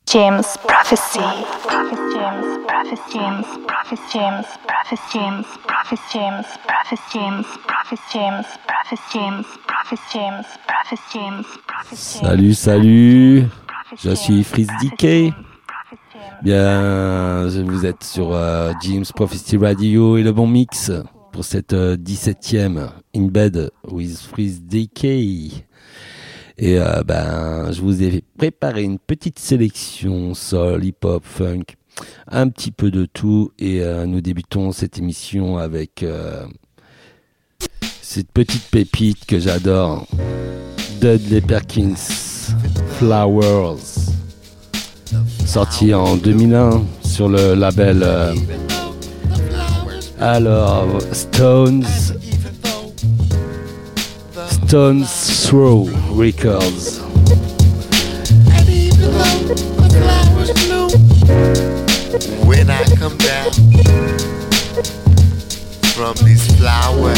James Prophecy. James Prophecy. James Prophecy. James Prophecy. James Prophecy. James Prophecy. James Prophecy. James Prophecy. James Prophecy. James Prophecy. James Prophecy. Salut, salut. Je suis Freeze DK. Bien, vous êtes sur James Prophecy Radio et le bon mix pour cette 17e In Bed with Freeze DK. Et je vous ai préparé une petite sélection soul, hip-hop, funk, un petit peu de tout. Et nous débutons cette émission avec cette petite pépite que j'adore, Dudley Perkins, Flowers, sorti en 2001 sur le label Stones Throw Records. And even though the flowers bloom, when I come down from these flowers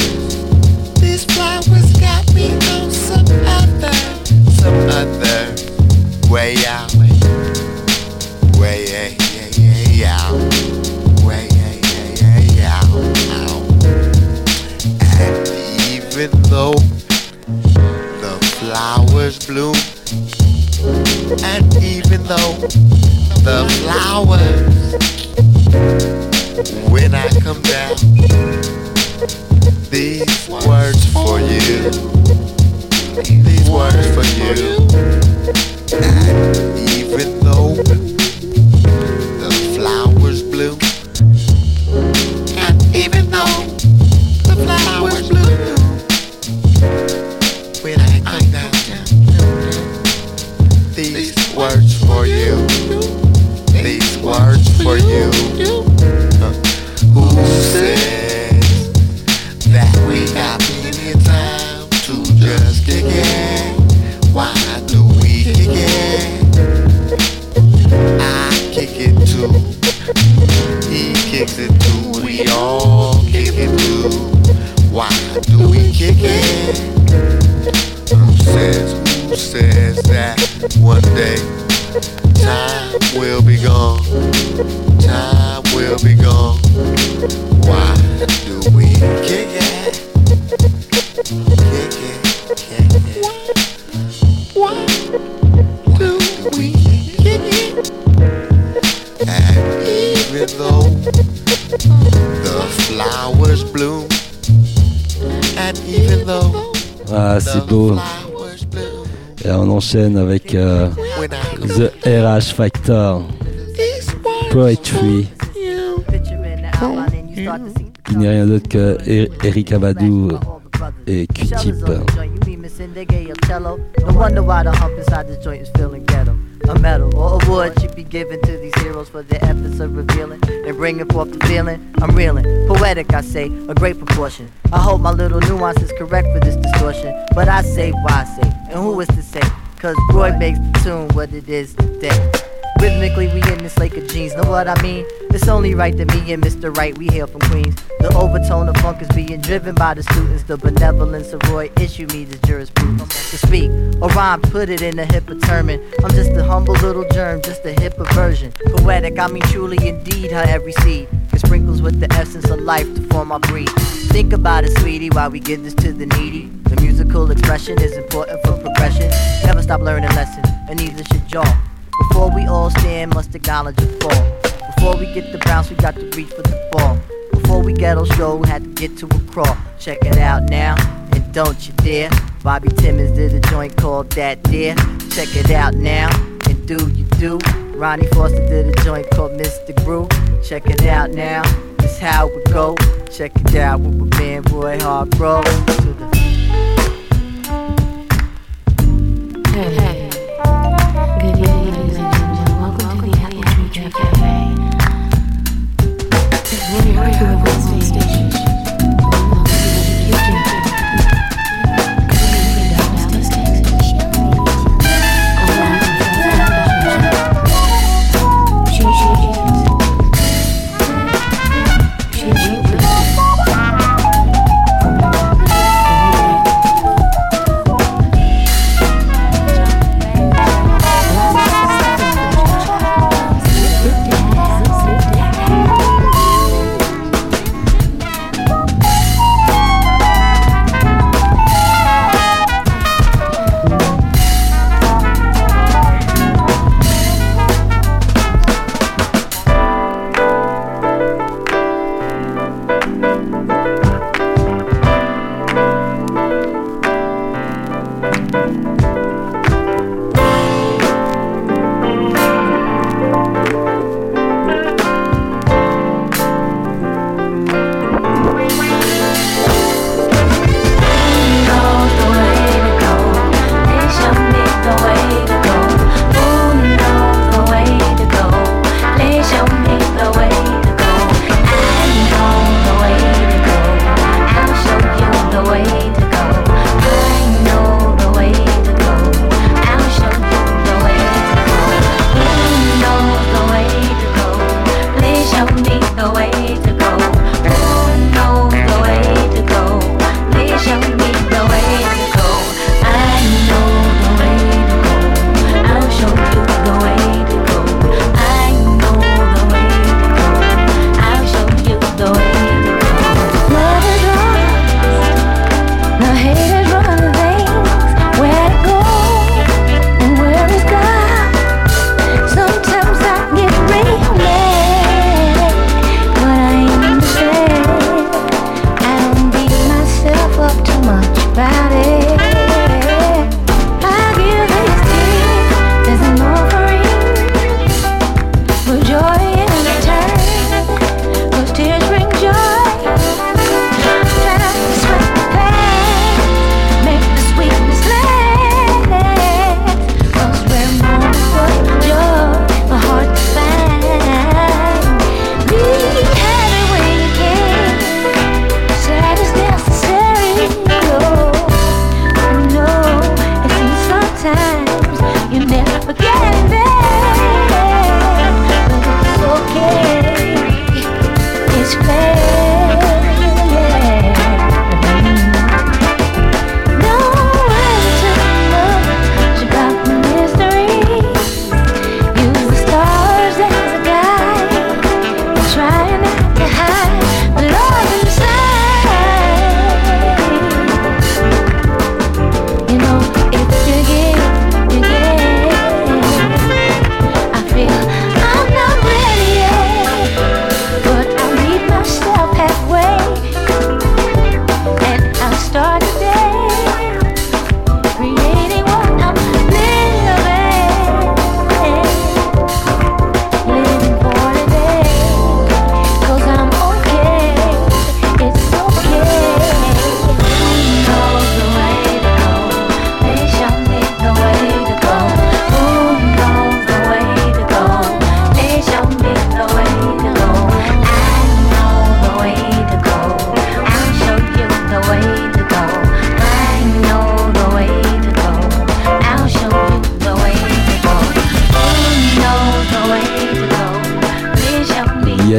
got me on some other way out, way out, way out. And even though flowers bloom, and even though the flowers, when I come down, these words for you, these words for you, and even though the flowers bloom, and even though the flowers bloom, when I come down, these words for you, these words for you. Who says that we got plenty of time to just kick it? Why do we kick it? I kick it too, he kicks it too, we all kick it too. Why do we kick it? Who says that one day time will be gone, time will be gone. Why do we kick it? Kick it, kick it. Why do we kick it? And even though the flowers bloom, and even though c'est beau. Et on enchaîne avec The RH Factor, Poetry, qui n'est rien d'autre que Erykah Badu et Q-Tip. No wonder why the hump inside this joint is feeling ghetto. A medal or award should be given to these heroes for their efforts of revealing and bringing forth the feeling. I'm reeling, poetic I say, a great proportion. I hope my little nuance is correct for this distortion, but I say why I say, and who is to say? Cause Roy makes the tune what it is today. Rhythmically we in this lake of jeans, know what I mean? It's only right that me and Mr. Right, we hail from Queens. The overtone of funk is being driven by the students. The benevolence of Roy issue me this jurisprudence. To speak, or rhyme, put it in a hipper term. I'm just a humble little germ, just a hipper version. Poetic, I mean truly indeed, her every seed it sprinkles with the essence of life to form our breed. Think about it, sweetie, while we give this to the needy. The musical expression is important for progression. Never stop learning lessons, and neither should y'all. Before we all stand, must acknowledge a fall. Before we get the bounce, we got to reach for the ball. Before we get on show, had to get to a crawl. Check it out now, and don't you dare. Bobby Timmons did a joint called That Dare. Check it out now, and do you do. Ronnie Foster did a joint called Mr. Groove. Check it out now, this how it go. Check it out with my man Roy Hargrove. Hey. Good evening, ladies and gentlemen. Welcome to the Apple Tree Cafe. We're here with Wednesday station.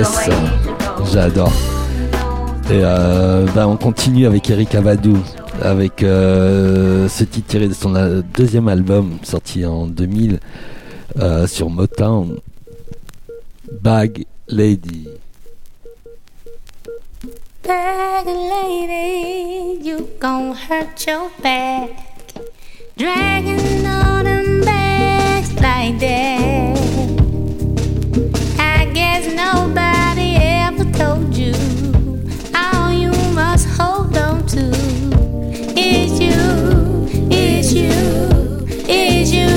Yes, j'adore. Et on continue avec Eric Avadou, avec ce titre tiré de son deuxième album sorti en 2000 sur Motown, Bag Lady. Bag lady, you gon' hurt your back, dragging all them bags like that. I guess nobody ever told you all you must hold on to is you, is you, is you.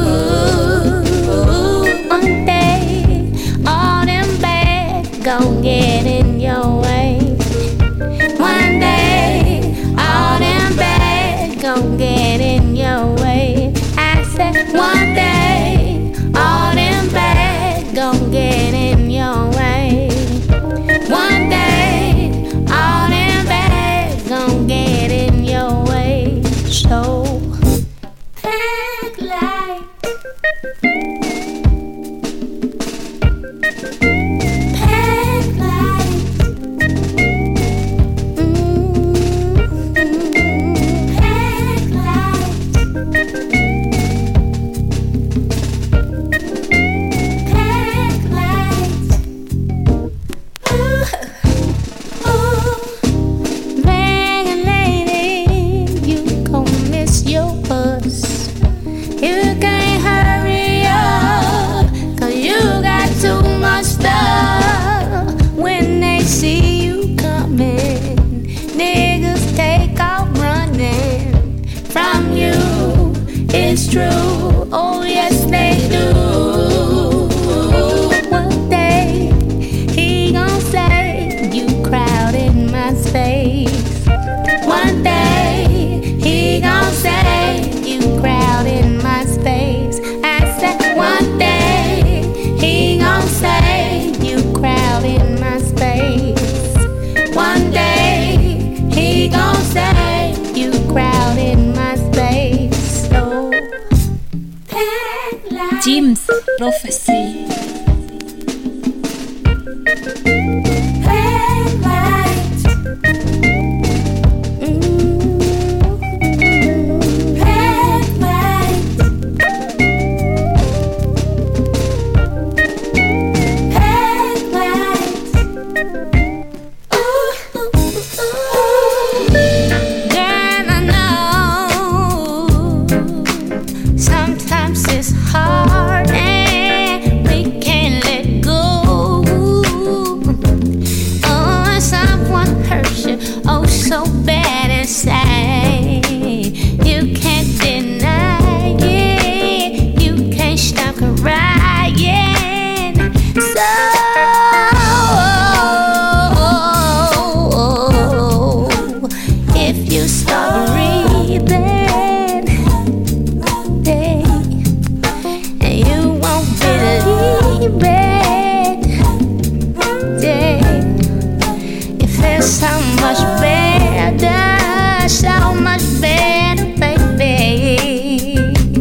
One day, all them bags gon' get in your way. One day, all them bags gon' get in your way. I said one day, all them bags gon' get in your way. One day, all them bags gon' get in your way. So, act like, act like, act it's true, oh yes they do. One day he gon' say you crowded my space. One day he gon' say you crowded my space. I said one day he gon' say you crowded my space. One day he gon' say you crowded my space. So Jim's Prophecy. sometimes it's hard and we can't let go. Oh, when someone hurts you, oh so bad inside, you can't deny it, you can't stop crying. So if you start breathing, so much better, so much better, baby.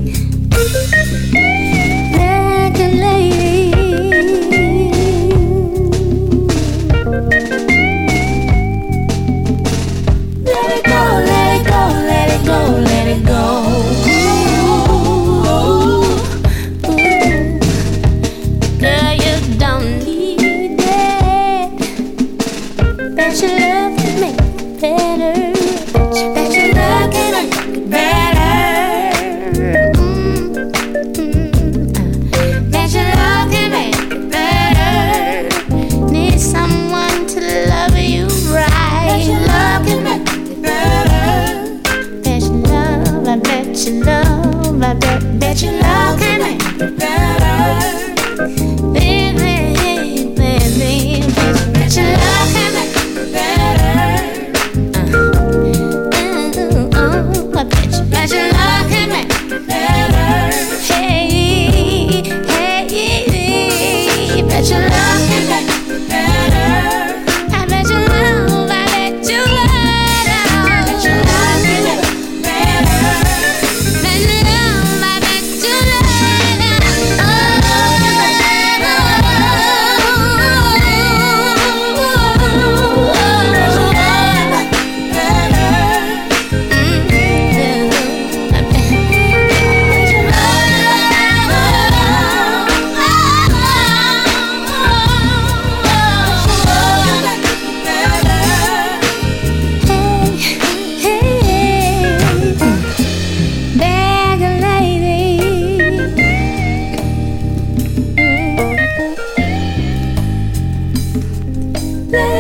Like a lady. Let it go, let it go, let it go, let it go. Girl,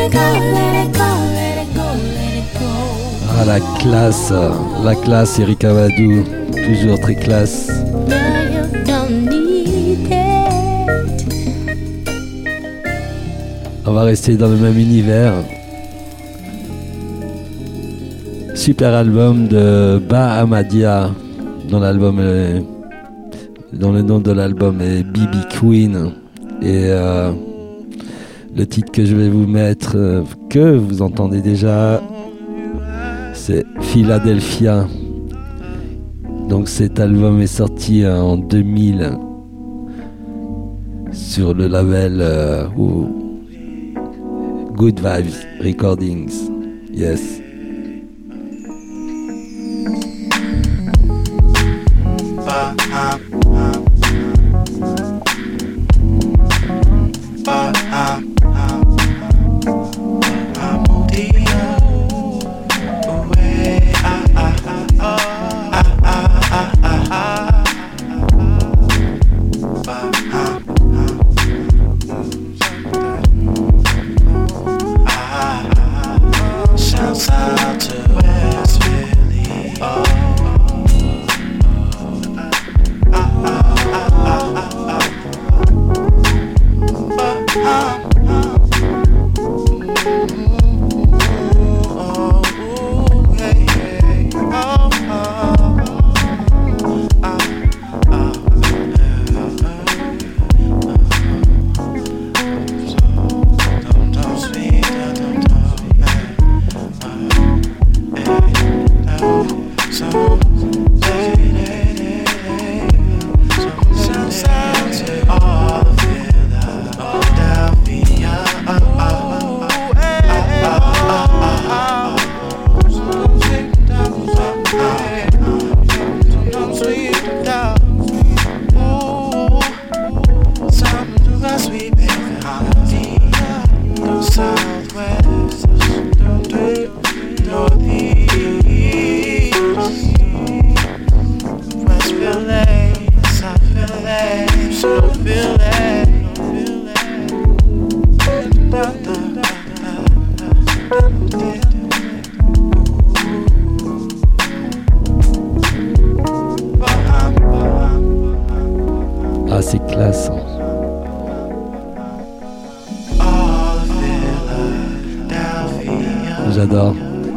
Ah, la classe, Eric Amadou, toujours très classe. On va rester dans le même univers. Super album de Bah Ahmadia, dont le nom de l'album est BB Queen. Et le titre que je vais vous mettre, que vous entendez déjà, c'est Philadelphia. Donc cet album est sorti en 2000 sur le label Good Vibes Recordings. Yes. Ah, c'est classe. J'adore.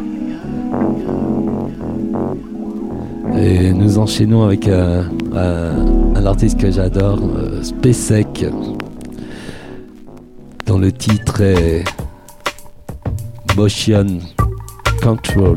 Et nous enchaînons avec un artiste que j'adore, Spacek, dont le titre est Motion Control.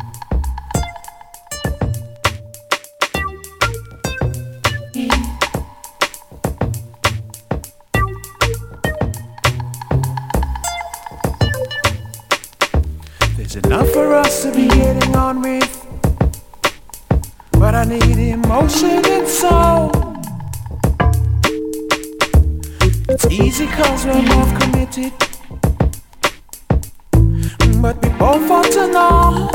There's enough for us to be getting on with, but I need emotion and soul. It's easy cause we're both committed, but we both want to know.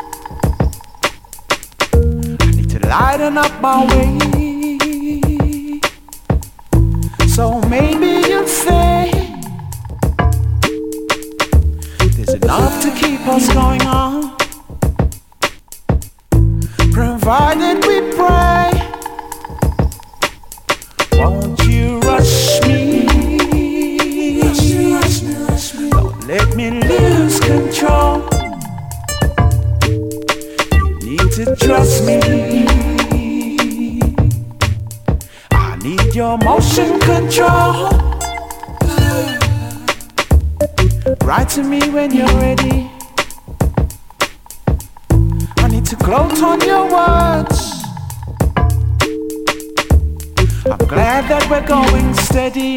I need to lighten up my way, so maybe you'll say there's enough to keep us going on, provided we pray. Won't you rush me? Don't let me lose control. You need to trust me. I need your motion control. Write to me when you're ready. I need to gloat on your words. I'm glad that we're going steady,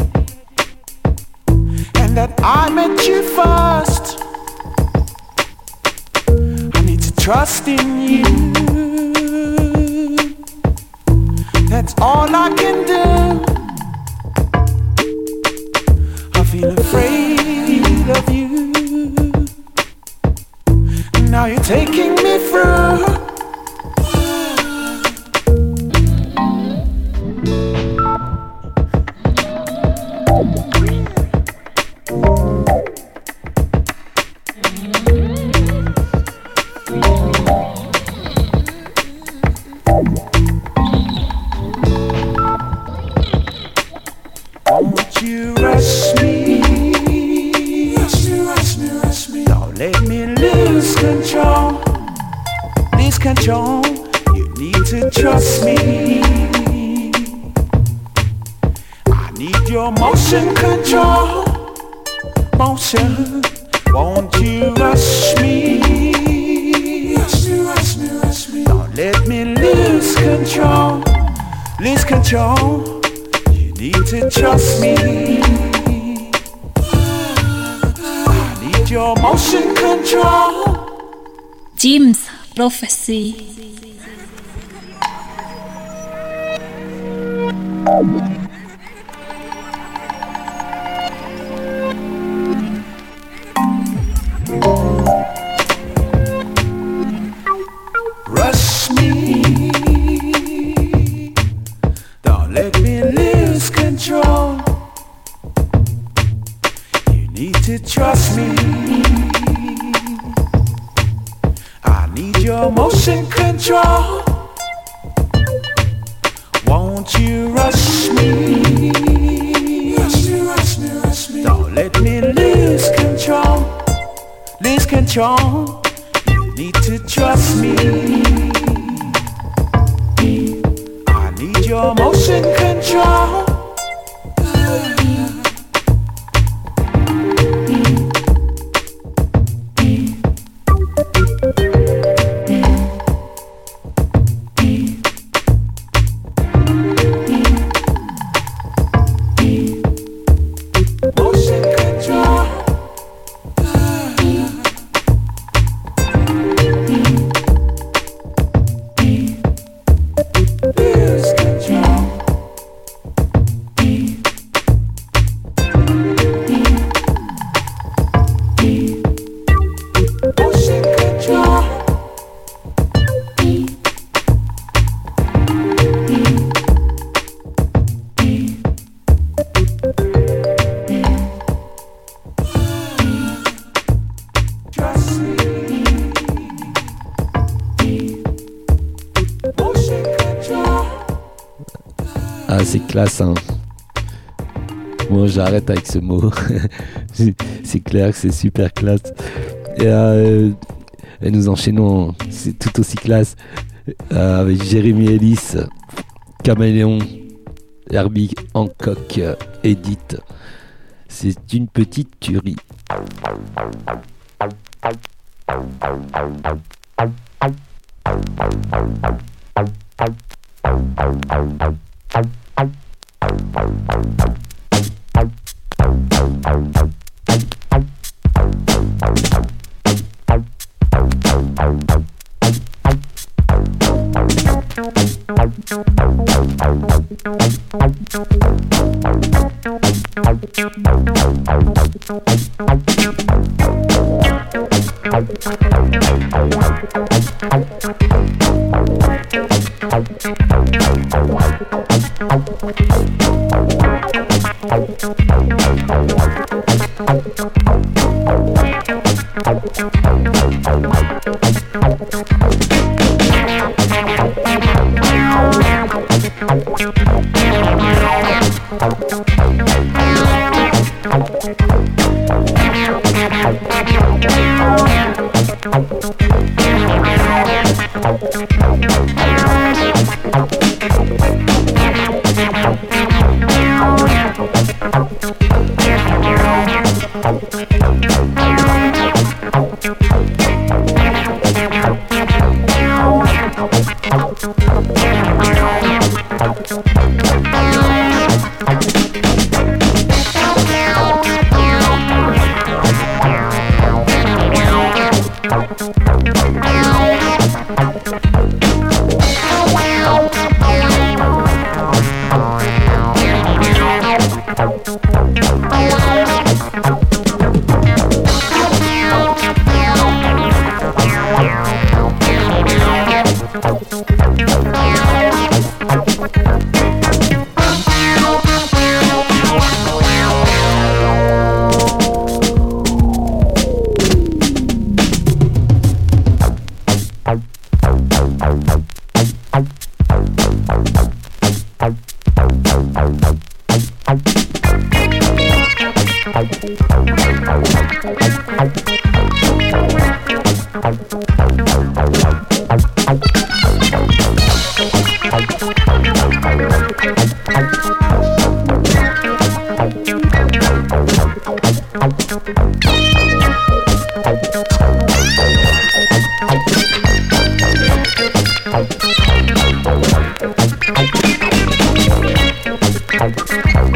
and that I met you first. I need to trust in you. That's all I can do. I feel afraid of you. Now you're taking me through. control. You need to trust me. I need your motion control. Motion, won't you rush me? Rush me. Don't let me lose control. Lose control. You need to trust me. I need your motion control. Jim's Prophecy. Rush me. Don't let me lose control. You need to trust me. I need your motion control. Won't you rush me? Rush me. Don't let me lose control. Lose control. You need to trust me. I need your motion control. Motion control. Lose control. Motion control. Trust me. Motion control. Ah, c'est classe, hein. Bon, j'arrête avec ce mot. C'est clair que c'est super classe. Et nous enchaînons, c'est tout aussi classe, avec Jérémy Ellis, Caméléon, Herbie Hancock, Edith. C'est une petite tuerie.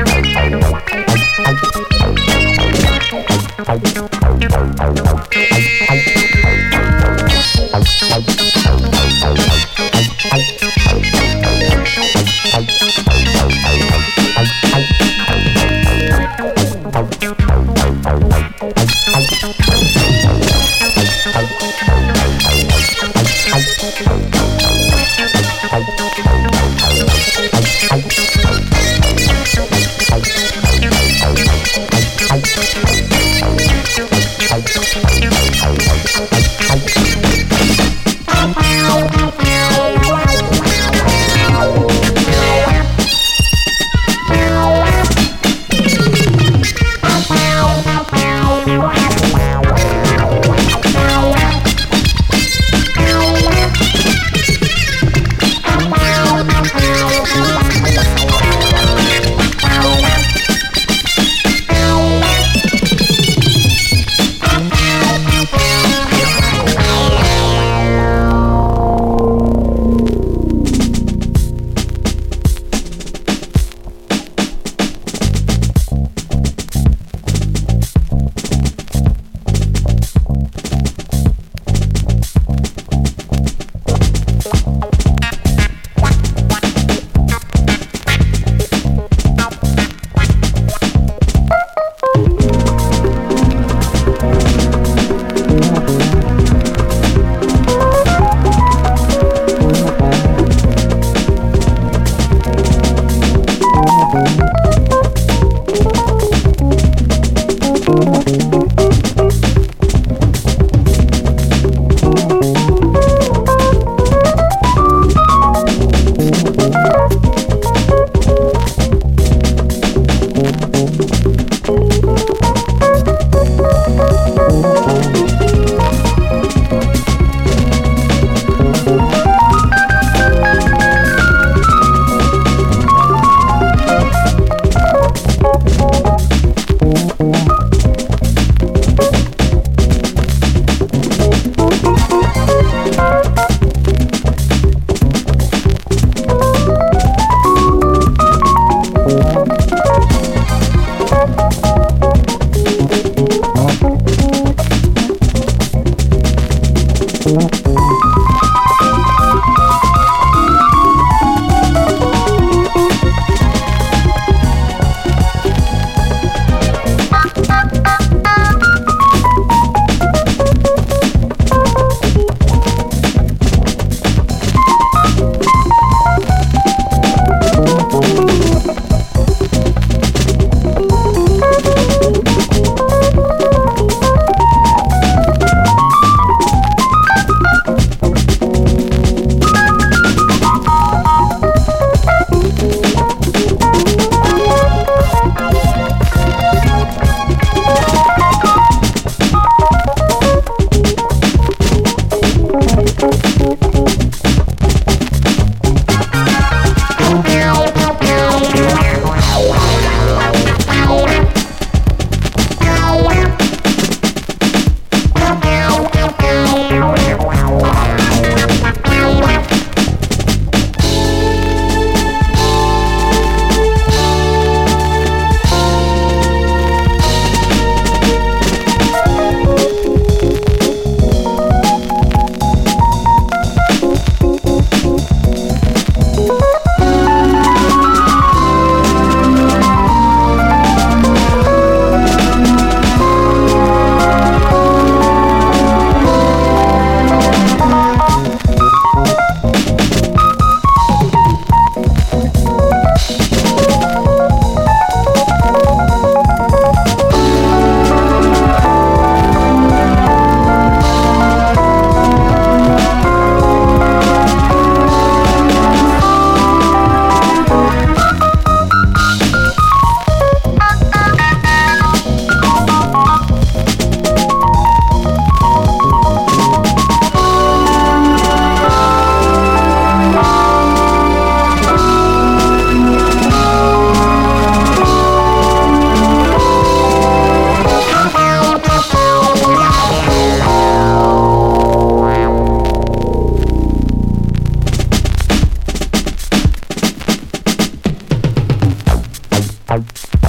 Thank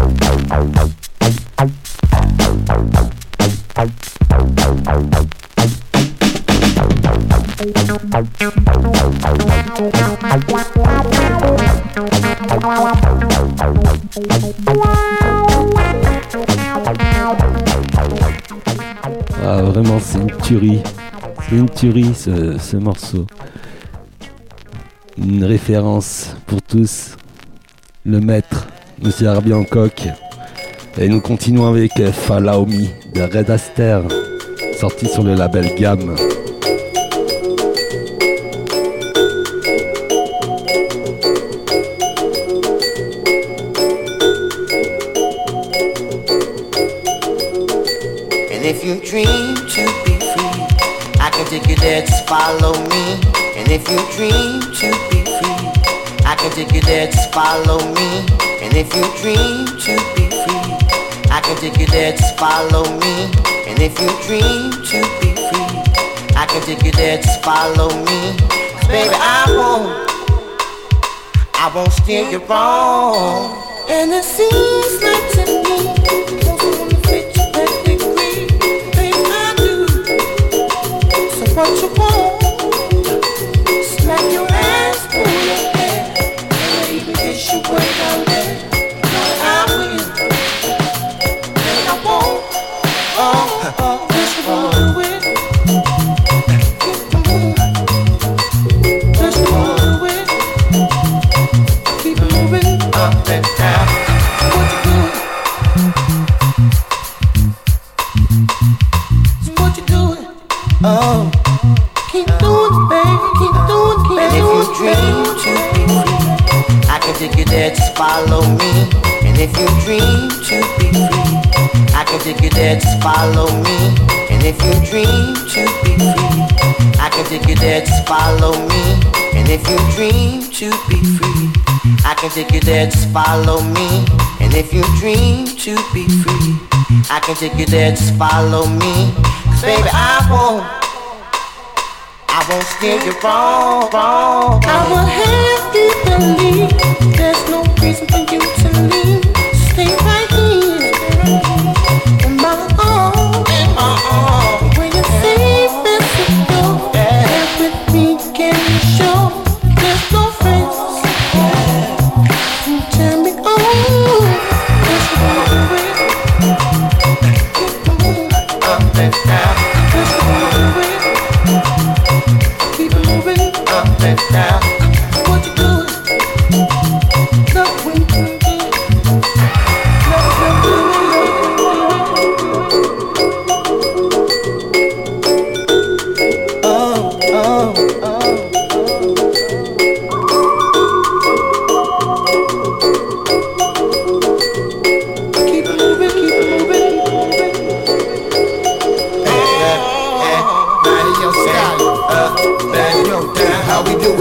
Ah, vraiment, c'est une tuerie. C'est une tuerie ce morceau. Une référence pour tous. Le maître, Monsieur Herbie Hancock. Et nous continuons avec Follow Me de Red Aster, sorti sur le label Gamme. And if you dream to be free, I can take you there, just follow me. And if you dream to be free, I can take you there, just follow me. And if you dream to be free, I can take you there, just follow me. And if you dream to be free, I can take you there, just follow me. 'Cause baby, I won't steer you wrong. And it seems like to me, what you want, smack your ass, pull your hair, baby, kiss you way down there. I will, and I won't, just run with, just run with, keep moving up and down. What you doing? So what you doing? Oh. Keep doing it, baby, keep doing it, and if you dream to be free, I can take you there, just follow me. And if you dream to be free, I can take you there, just follow me. And if you dream to be free, I can take you there, just follow me. And if you dream to be free, I can take you there, just follow me. And if you dream to be free, I can take you there, just follow me. 'Cause baby, I won't steer you wrong. I will have you believe there's no reason for you to leave. Stay right here in my arms. When you're safe and secure, there with me can you show there's no friends. You turn me on. Just run with. Keep moving up and down. Just run with. Up and down. What you doing? Love when you do. Love when you do. Oh. Keep moving. Body your style. Body your down. How we do it?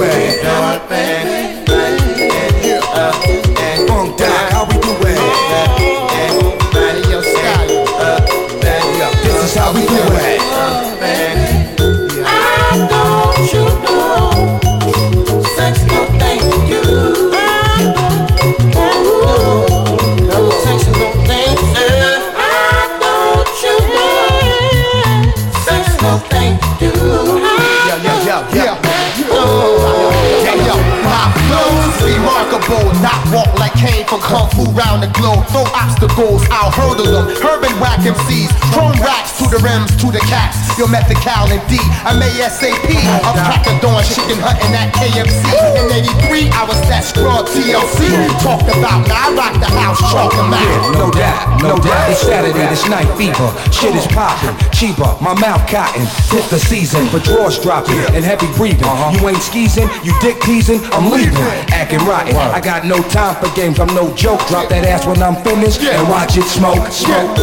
And boom down. How we do it? Body your style. This is how we do it. I know you know sex no thing to do. Sex no thing to do. I know you know sex no thing to do. Yeah. My flow's remarkable, not walk like Kane from Kung Fu round the globe. Throw obstacles, I'll hurdle them. Herb and whack MCs, throwing racks to the rims, to the cats. Your Methical and D, I'm ASAP. I'm cracking dawn, chicken hunting at KFC. In '83, I was that scrub TLC. Talked about, now I rock the house, chalk them out. No doubt, it's Saturday, it's night fever. Shit is popping, cheaper, my mouth cotton. Hit the season, but drawers dropping and heavy breathing. You ain't skeezing, you dick teasing, I'm leaving. Acting rotten, I got no time for games, I'm no joke. Drop that ass when I'm finished and watch it smoke. Smoke.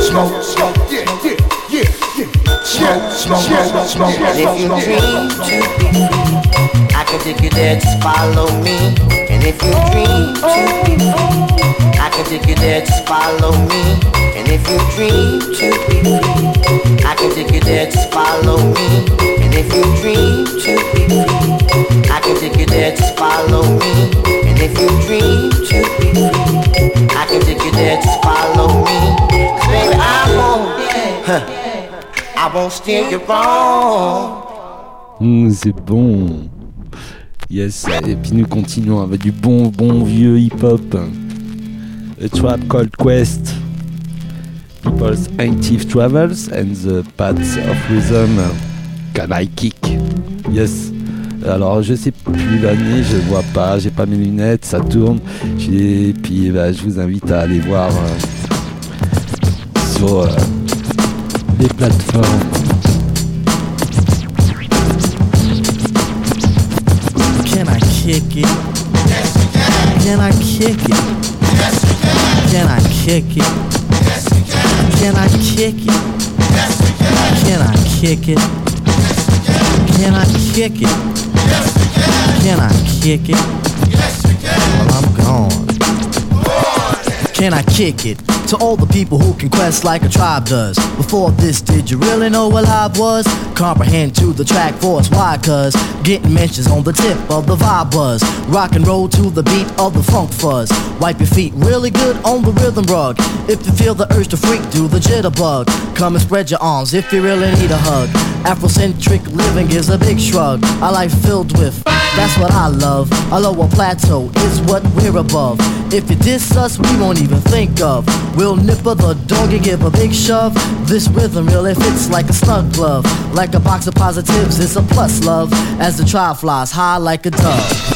And if you dream to be free, I can take you there, just follow me. And if you dream to be free, I can take you there, just follow me. And if you dream to be free, I can take you there, just follow me. And if you dream to be free, I can take you there, just follow me. And if you dream to be free, I can take you there, just follow me. 'Cause baby, I won't steer you wrong. C'est bon. Yes, et puis nous continuons avec du bon vieux hip-hop. A Tribe Called Quest, People's Active Travels and the Paths of Rhythm. Can I Kick? Yes. Alors je sais plus l'année, je vois pas, j'ai pas mes lunettes, ça tourne. Et puis je vous invite à aller voir sur les plateformes. Can I kick it? Yes, you can. Can I kick it? Yes, you can. Can I kick it? Yes, you can. Can I kick it? Yes, you can. Can I kick it? Yes, you can. Can I kick it? Yes, you can. Can I kick it? Yes, you can. Well, I'm gone. Can I kick it? To all the people who can quest like a tribe does. Before this, did you really know what live was? Comprehend to the track force, why? Cause getting mentions on the tip of the vibe buzz. Rock and roll to the beat of the funk fuzz. Wipe your feet really good on the rhythm rug. If you feel the urge to freak, do the jitterbug. Come and spread your arms if you really need a hug. Afrocentric living is a big shrug. A life filled with, that's what I love. A lower plateau is what we're above. If you diss us, we won't even think of. We'll nipper the dog and give a big shove. This rhythm really fits like a snug glove. Like a box of positives, it's a plus love. As the tribe flies high like a dove.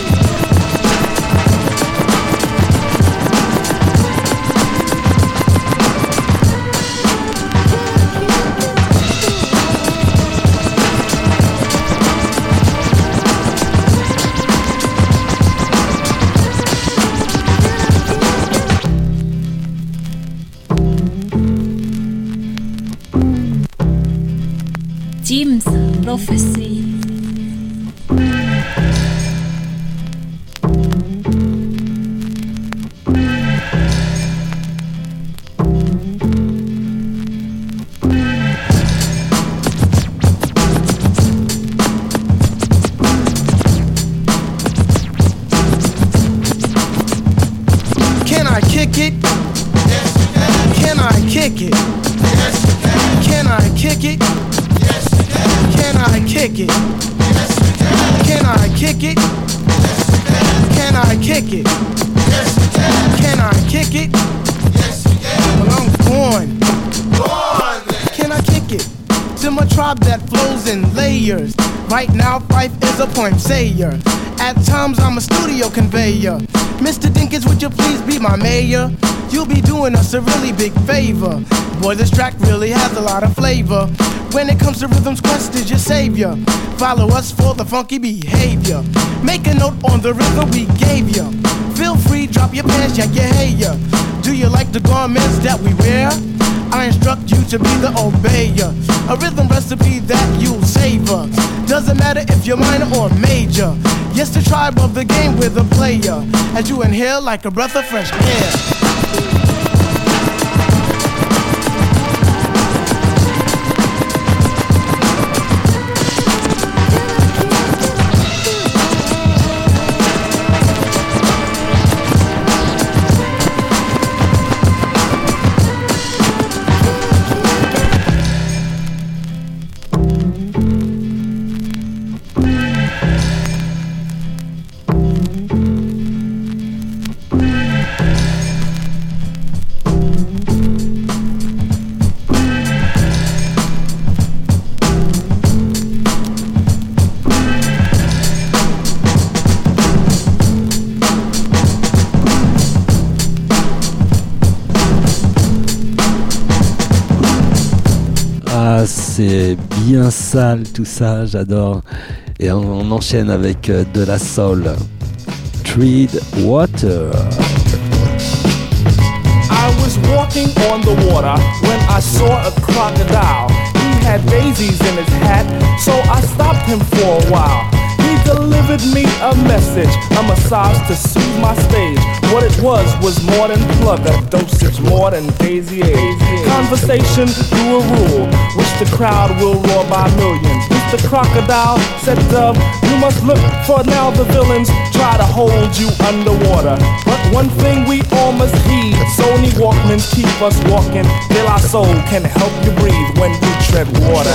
Jim's Prophecy. Can I kick it? Yes, you can. Can I kick it? Yes, you can. Can I kick it? Yes, you can. Can I kick it? Yes, you can. Can I kick it? Yes, you can. Can I kick it? Yes, you can. Can I kick it? Yes, you can. Well, I'm going. Go on, then. Can I kick it? To my tribe that flows in layers. Right now, Fife is a point sayer. At times, I'm a studio conveyor. Mr. Dinkins, would you please be my mayor? You'll be doing us a really big favor. Boy, this track really has a lot of flavor. When it comes to Rhythm's Quest is your savior. Follow us for the funky behavior. Make a note on the rhythm we gave you. Feel free, drop your pants, yank your hair. Do you like the garments that we wear? I instruct you to be the obeyer. A rhythm recipe that you'll savor. Doesn't matter if you're minor or major. Yes, the tribe of the game with a player. As you inhale like a breath of fresh air. C'est bien sale tout ça, j'adore. Et on enchaîne avec de la soul. Tread Water. I was walking on the water when I saw a crocodile. He had daisies in his hat, so I stopped him for a while. He delivered me a message, a massage to soothe my stage. What it was more than plug, a dosage more than Daisy Age. Conversation through a rule, which the crowd will roar by millions. Mr. Crocodile said, Dub, you must look, for now the villains try to hold you underwater. But one thing we all must heed, Sony Walkmans keep us walking. De La Soul can help you breathe when you tread water.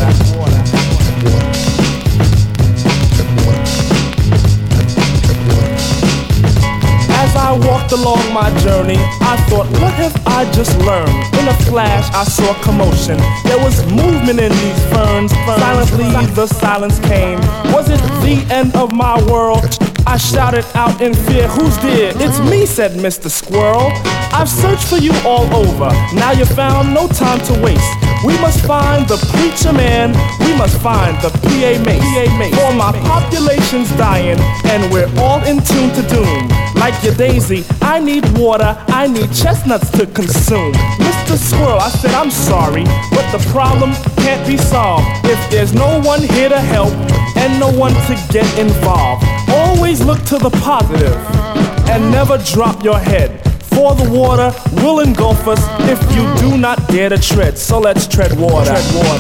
As I walked along my journey, I thought, what have I just learned? In a flash, I saw commotion. There was movement in these ferns. Silently, the silence came. Was it the end of my world? I shouted out in fear, who's there? It's me, said Mr. Squirrel. I've searched for you all over. Now you're found, no time to waste. We must find the preacher man. We must find the PA mace. For my population's dying, and we're all in tune to doom. Like your Daisy, I need water, I need chestnuts to consume. Mr. Squirrel, I said I'm sorry, but the problem can't be solved if there's no one here to help and no one to get involved. Always look to the positive and never drop your head. For the water will engulf us if you do not dare to tread. So let's tread water.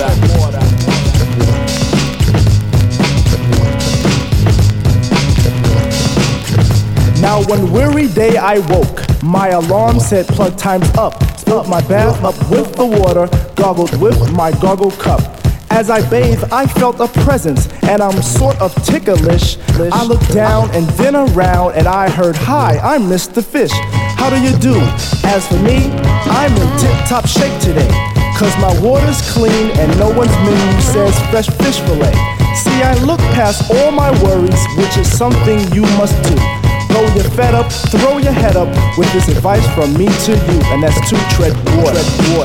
Now one weary day I woke. My alarm said plug time's up. Filled my bath up with the water, gargled with my gargle cup. As I bathed, I felt a presence, and I'm sort of ticklish. I looked down and then around, and I heard, hi, I'm Mr. Fish. How do you do? As for me, I'm in tip-top shape today, 'cause my water's clean and no one's menu says fresh fish fillet. See, I look past all my worries, which is something you must do. Though you're fed up, throw your head up with this advice from me to you, and that's to tread water.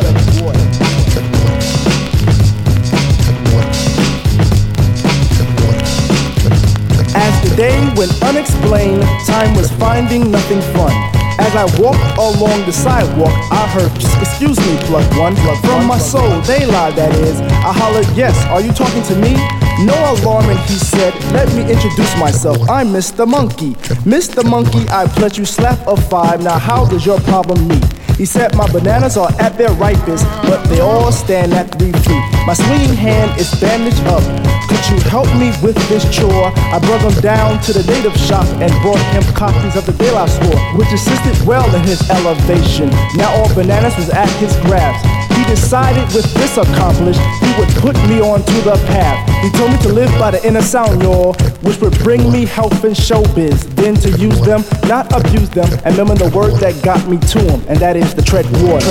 As the day went unexplained, time was finding nothing fun. As I walked along the sidewalk, I heard, excuse me, plug one. From my soul, they lied, that is. I hollered, yes, are you talking to me? No alarming, he said, let me introduce myself. I'm Mr. Monkey. Mr. Monkey, I pledge you slap of 5. Now how does your problem meet? He said my bananas are at their ripest, but they all stand at 3 feet. My swinging hand is bandaged up. Could you help me with this chore? I brought him down to the native shop and brought him copies of the De La Soul, which assisted well in his elevation. Now all bananas was at his grasp. He decided with this accomplished, he would put me onto the path. He told me to live by the inner sound, y'all, which would bring me health and showbiz. Then to use them, not abuse them, and remember the word that got me to him, and that is the tread water.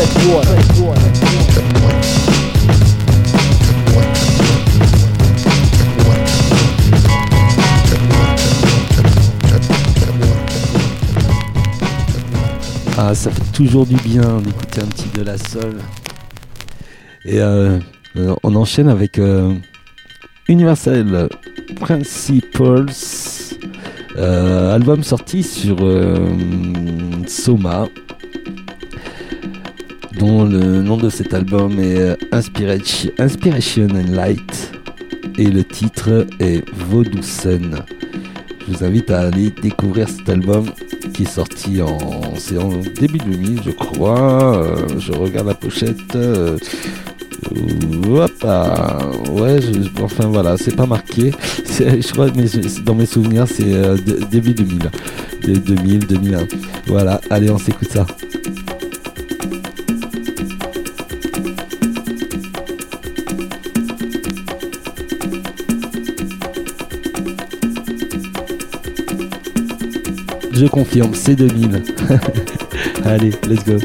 Ah, ça fait toujours du bien d'écouter un petit De La Soul. Et on enchaîne avec Universal Principles, album sorti sur Soma, dont le nom de cet album est Inspiration and Light, et le titre est Vaudou Sun. Je vous invite à aller découvrir cet album qui est sorti en début 2000, je crois. Je regarde la pochette. Enfin voilà, c'est pas marqué. Je crois que dans mes souvenirs, c'est début 2000. 2001. Voilà, allez, on s'écoute ça. Je confirme, c'est 2000. Allez, let's go.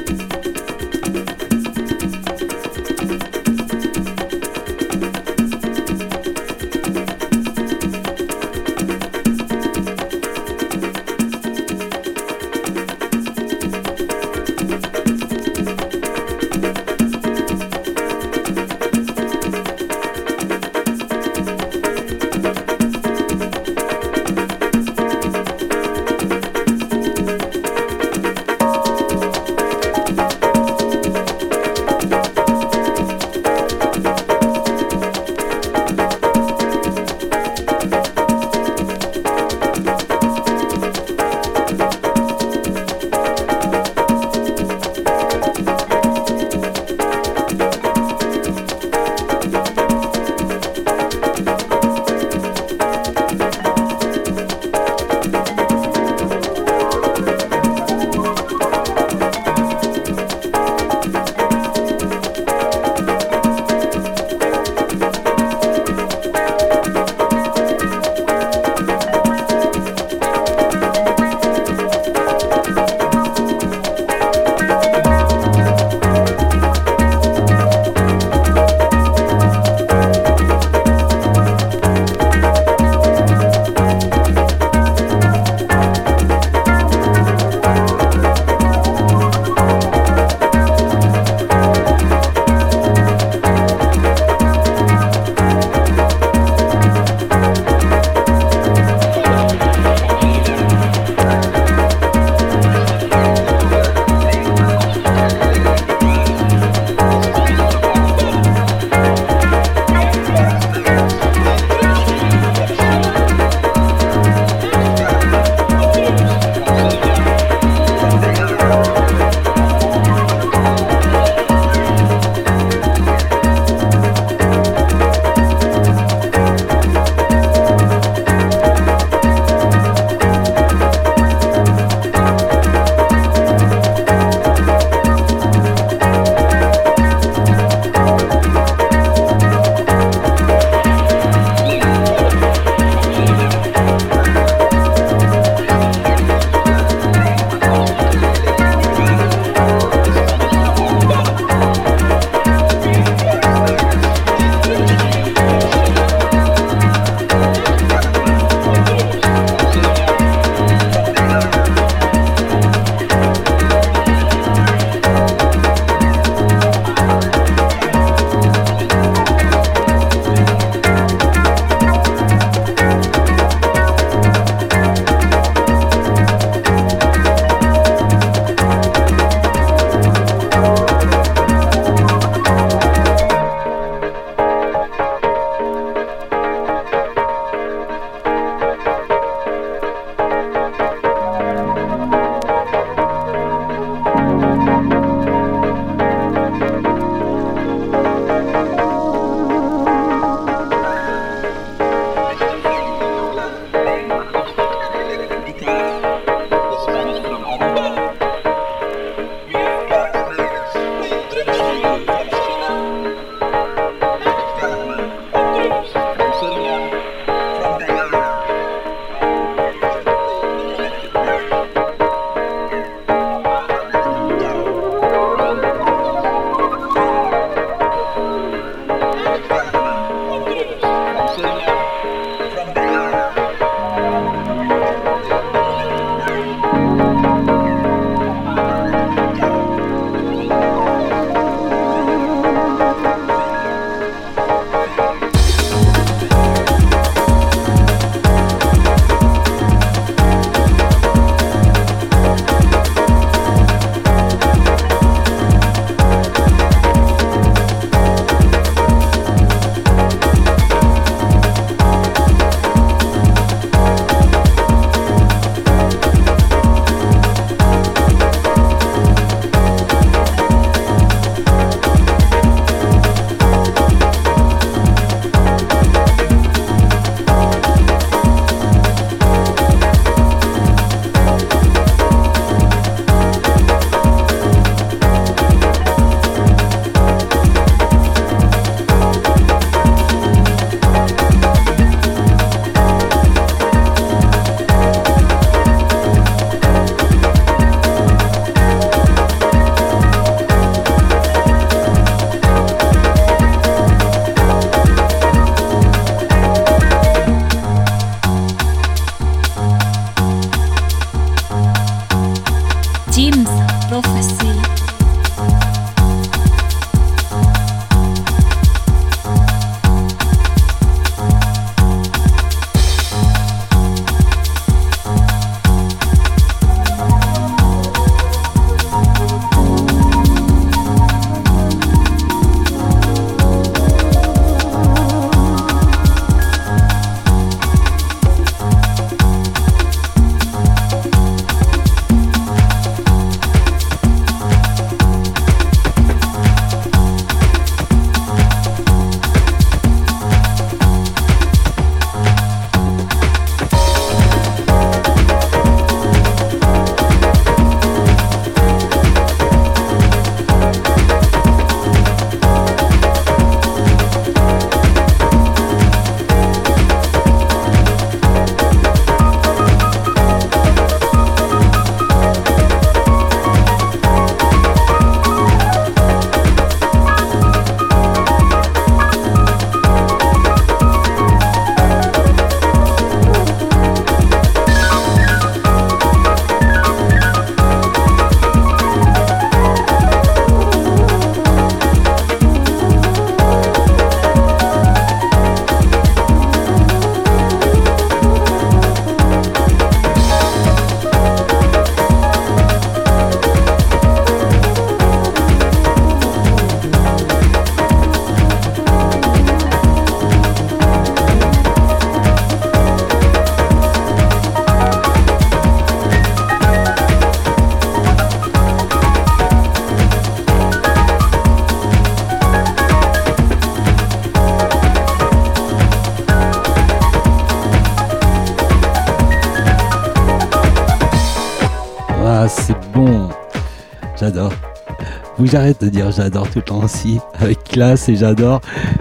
j'adore. Faut que j'arrête de dire j'adore tout le temps aussi, avec classe et j'adore.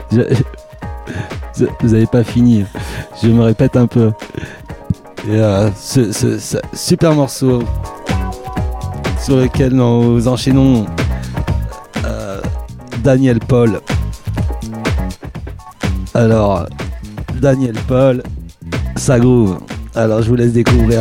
Vous avez pas fini, je me répète un peu. Et ce super morceau sur lequel nous enchaînons Daniel Paul. Alors, Daniel Paul, ça groove. Alors, je vous laisse découvrir.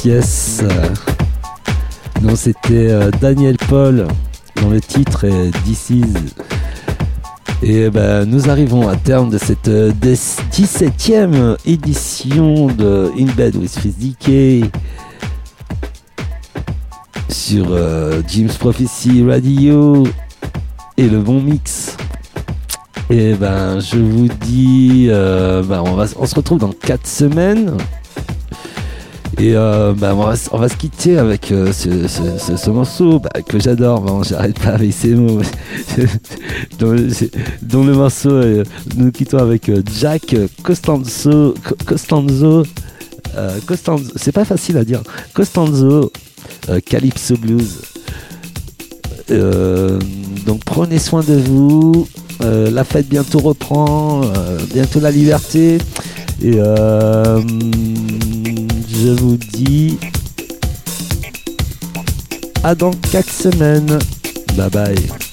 pièce. Non, c'était Daniel Paul dont le titre est This Is. Et nous arrivons à terme de cette 17e édition de In Bed with Fizz DK sur Jim's Prophecy Radio et le bon mix. Et je vous dis, on se retrouve dans 4 semaines. Et on va se quitter avec ce morceau que j'adore. Bon, j'arrête pas avec ces mots. dont le morceau, nous quittons avec Jack Costanzo. C'est pas facile à dire. Costanzo, Calypso Blues. Donc prenez soin de vous. La fête bientôt reprend. Bientôt la liberté. Et je vous dis à dans 4 semaines. Bye bye.